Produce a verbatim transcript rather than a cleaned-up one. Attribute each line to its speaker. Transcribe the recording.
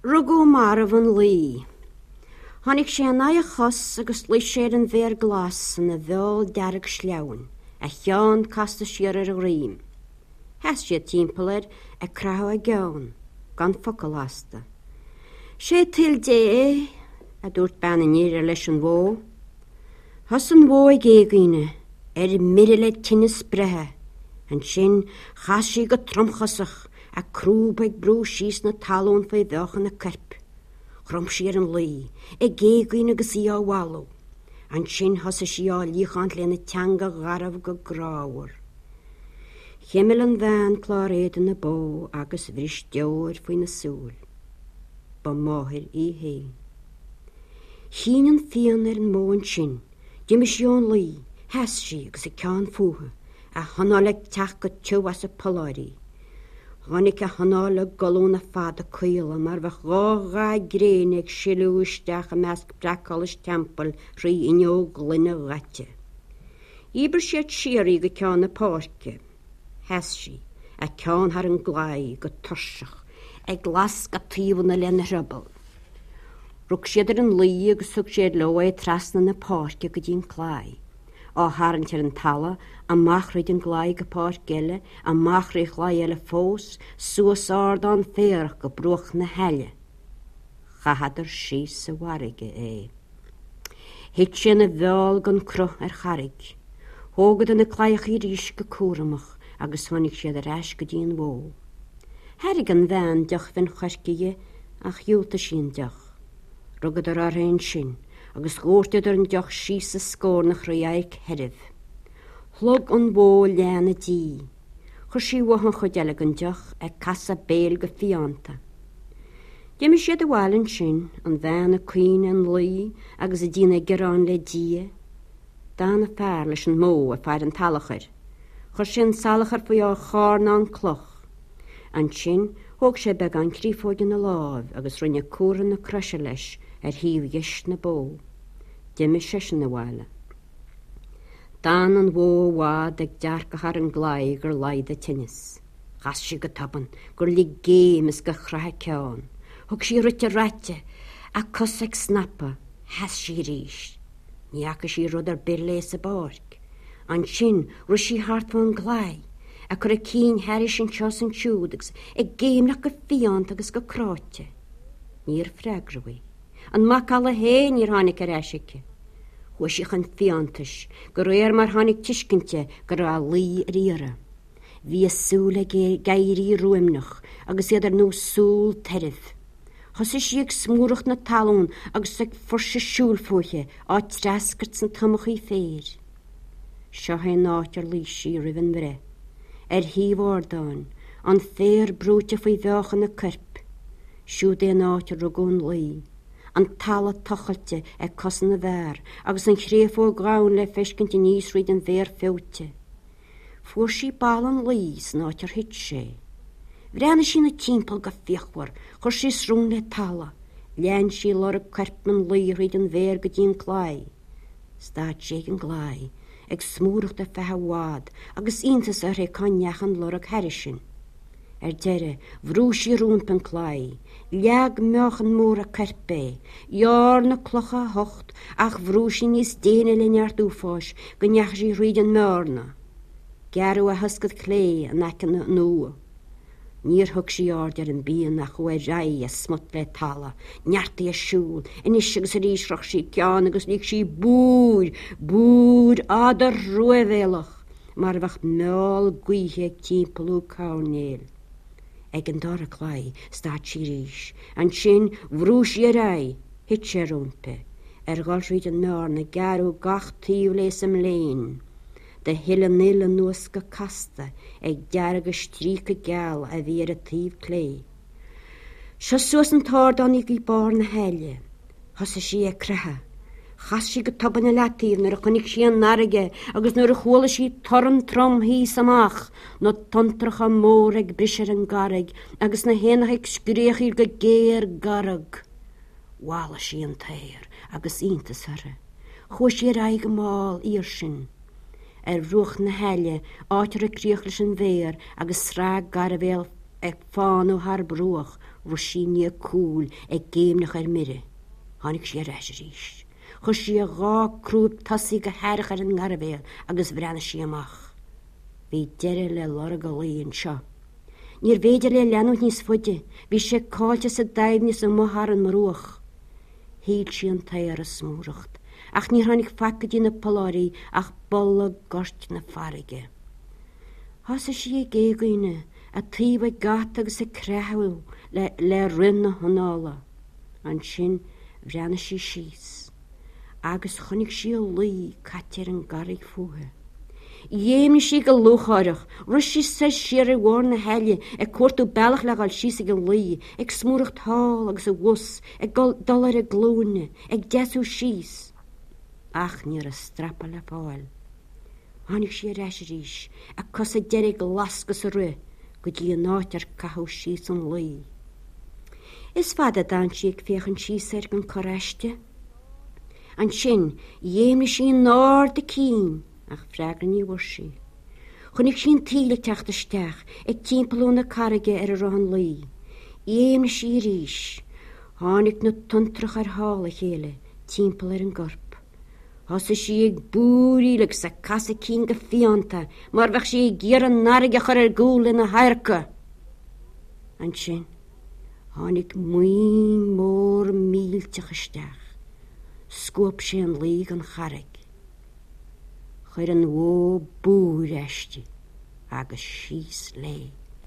Speaker 1: Rugó mar van lí. Honnig sé an na chos agus lí sé an bhéir glas na bheol dearag sleaun, a chean casta siar ar a rím. Hes sé timpplaid a crau a gean, gan focail asta. Sé til dé a dúirt banna níir leis an bhó. Has an bhó i géagaine, ar mire le tinnis brethe, an sin chas sí go tromchasach a crúb ag brú síos na talún fai bheochan na carp. Chrom siar an lí, i géagaine agus í á walú, an sin has sí á líchant le na teanga garabh go gráhar. Chiimil an bhean chláréad in na bó agus bhrís deir faoi na súl. Ba máthir í hé. Hín an fian ar an móin sin, Dimis Jón lí, hes sí agus a cean fuha, a hanáleg teach go tiú as a paláirí. Honnig a hanála golún a fada cuila mar bheith gágá gréin ag siúisteach a measc bracalis tempel rí inó glunne ghaite. Íbar siad siarí go cean na párce. Hes sí, a cean har an gláí go tursach, ag glas go tíomna le na hrabal. Rug siad ar an lí agus sug siad lo é trasna na párce go dín chláí. Á háint ar an tala, a machraid an gláí go pár geile, a machraid chláí eile fós, suas ard an féarach go broch na heile. Chahadar sí sa warige é. Hit sin a bheol gan cruch ar charig. Hógad an na chláich í rís go cúramach, agus tháinig siad ar eis go dín bhó. Herig an bhean deach fin charciige ach dúlta sin deach. Rugad ar ar hain sin, agus górtead ar an deach síos a scór nach raíag heribh. Chlog an bó leanna dí, chur sí wahan chudeala an deach ag casa béal go fianta. Diimi siad a bhhailin sin an bhean a cuoine an lí agus a dína gerán le dí, dána fear leis an mó a fear an talachar. Chur sin salachar faoi á chárna an cloch. An sin thóg sé beag an crífóide na láb agus rinne cuaran na cruise leis ar híomh dheis na bó. Diimi sé sin na bhhaile. Dan an bhó bhád ag dearcachar an gláí gur laid a tinnis. Chas sí go taban gur lí gémas go chrathe ceán. Thug sí rute rate a cos ag snappa, hes sí ríis. Níacha sí rud ar bir léis a bárc. An sin ru sí hart fan gláí, a chur a cín heris an teos an siúdagus ag géimnach go fiant agus go cráte. Níor freigraí. An mac alla héin níor hánig ar eisice. Huisich an fiantas, gur réir mar hánig tiiscinte gur a lí riara. Bhí súla gairí ruimnach agus iad ar nó súl terith. Chos is ag smúracht na talún agus ag forsa siúlfóthe á trascart san tamachí fér. Seo hé nátear lí sí rihan bhre. Er híhhardáin, an fér brúte faoi bheochan na carp. Siúd é nátear rugún lí. An tala tochalte ag cosan na bhar, agus an chréfó gáin le feiscint níos riad an bhéir féute. Fuair sí balan lís nátear hit sé. Bhreanna sí na timppel go fiachhar, chur sí srún le tala, lean sí lor a carpman lí riad an bhéir go dín chláí. Stáid sé an gláí, ag smúracht a fethe bhád, agus iontas ar é caneachan lor ag herisin. Er deire, bhrú sí rúnpan chláí, leag meochan mór a carpé, jaar na clocha hocht, ach bhrú sí níos déine le neart úfáis, go neach sí riad an mórna. Gearú a huscad clé an echan na nua. Níor thug sí ard ar an bíon nach chuir raí a smut le tala, neartaí a siúl, inis agus a rísrach sí ceán agus níag sí búr, búr adar ruavéalach, mar bheith meáil guithe ag timppelú cánéil. Ag an dara chláí stáid sí ríis, an sin bhrú sí a rai, hit sé rúmpe, ar gáil riad an mórna gearú gach tíomh leis am léin. De hiile nile nuas go casta ag dearag a stríca geal a bhí ar a tíomh clé. Seo suas an tádanig í bar na heile, thosa sí a crathe. Chas sí go tabanna letíomh nar a chunig sí an narige agus nuair a chóla sí toran trom híos amach nó tontracha mór ag brisir an garrig agus na héanach ag scríochaí go géir garag. Bhála sí an tair agus iontas ara. Chua sí ar aig máil ír sin. Ar ruach na heile áitir a críoch leis an bhéir agus srá garabhéal ag fáú har brúach Roshi ní cúl ag géimnach ar mire. Tháinig sé reis ríis. Chus sí a gá crúb tasí go háirich ar an ngarabéil agus bhreanna sí amach. Bhí deire le lara go líon seo. Níor féidir le leanú níos fuide, bhí sé cáilte sa daimhne sa mothar an marúach. Híl sí an tair a smúracht, ach ní tháinig facadí na poláirí ach bolla gort na farige. Thasa sí a géagaine a tíomh gata agus a creathú le, le rinne honála. An sin bhreanna sí síos. Agus chonig sí a lí caitear an garig fuathe. Dhéimne sí go lúcháireach, rus sí sa siar a bhór na heile ag cuairtú bealach le gáil síos ag an lí, ag smúracht thál agus a bhus, ag dul ar a glúne, ag deasú síos. Ach níor a strappa le fáil. Tháinig sí a reis ríis, a cos a deir lascas a ru, go dtí an áit ar cathú síos an lí. Is fada dan sí ag féchan síos ar an choráiste? An sin, dhéimne sí an náir de cín, ach freagan ní bhar sí. Chnig sin tíle teachtasteach ag timpealú na carige ar a rohan lí. Dhéimne sí ríis, tháinig na tuntrach ar hála chéile, timpeal ar an gorp. Thasa sí ag búríleg sa casa cín go fianta, mar bheith sí ag ggéar an narige chur ar gúil in na hairca. An sin, tháinig muoin mór mílteachasteach. Scoop sé an lí an charig. Chuir an bhó búr eiste agus síos lé.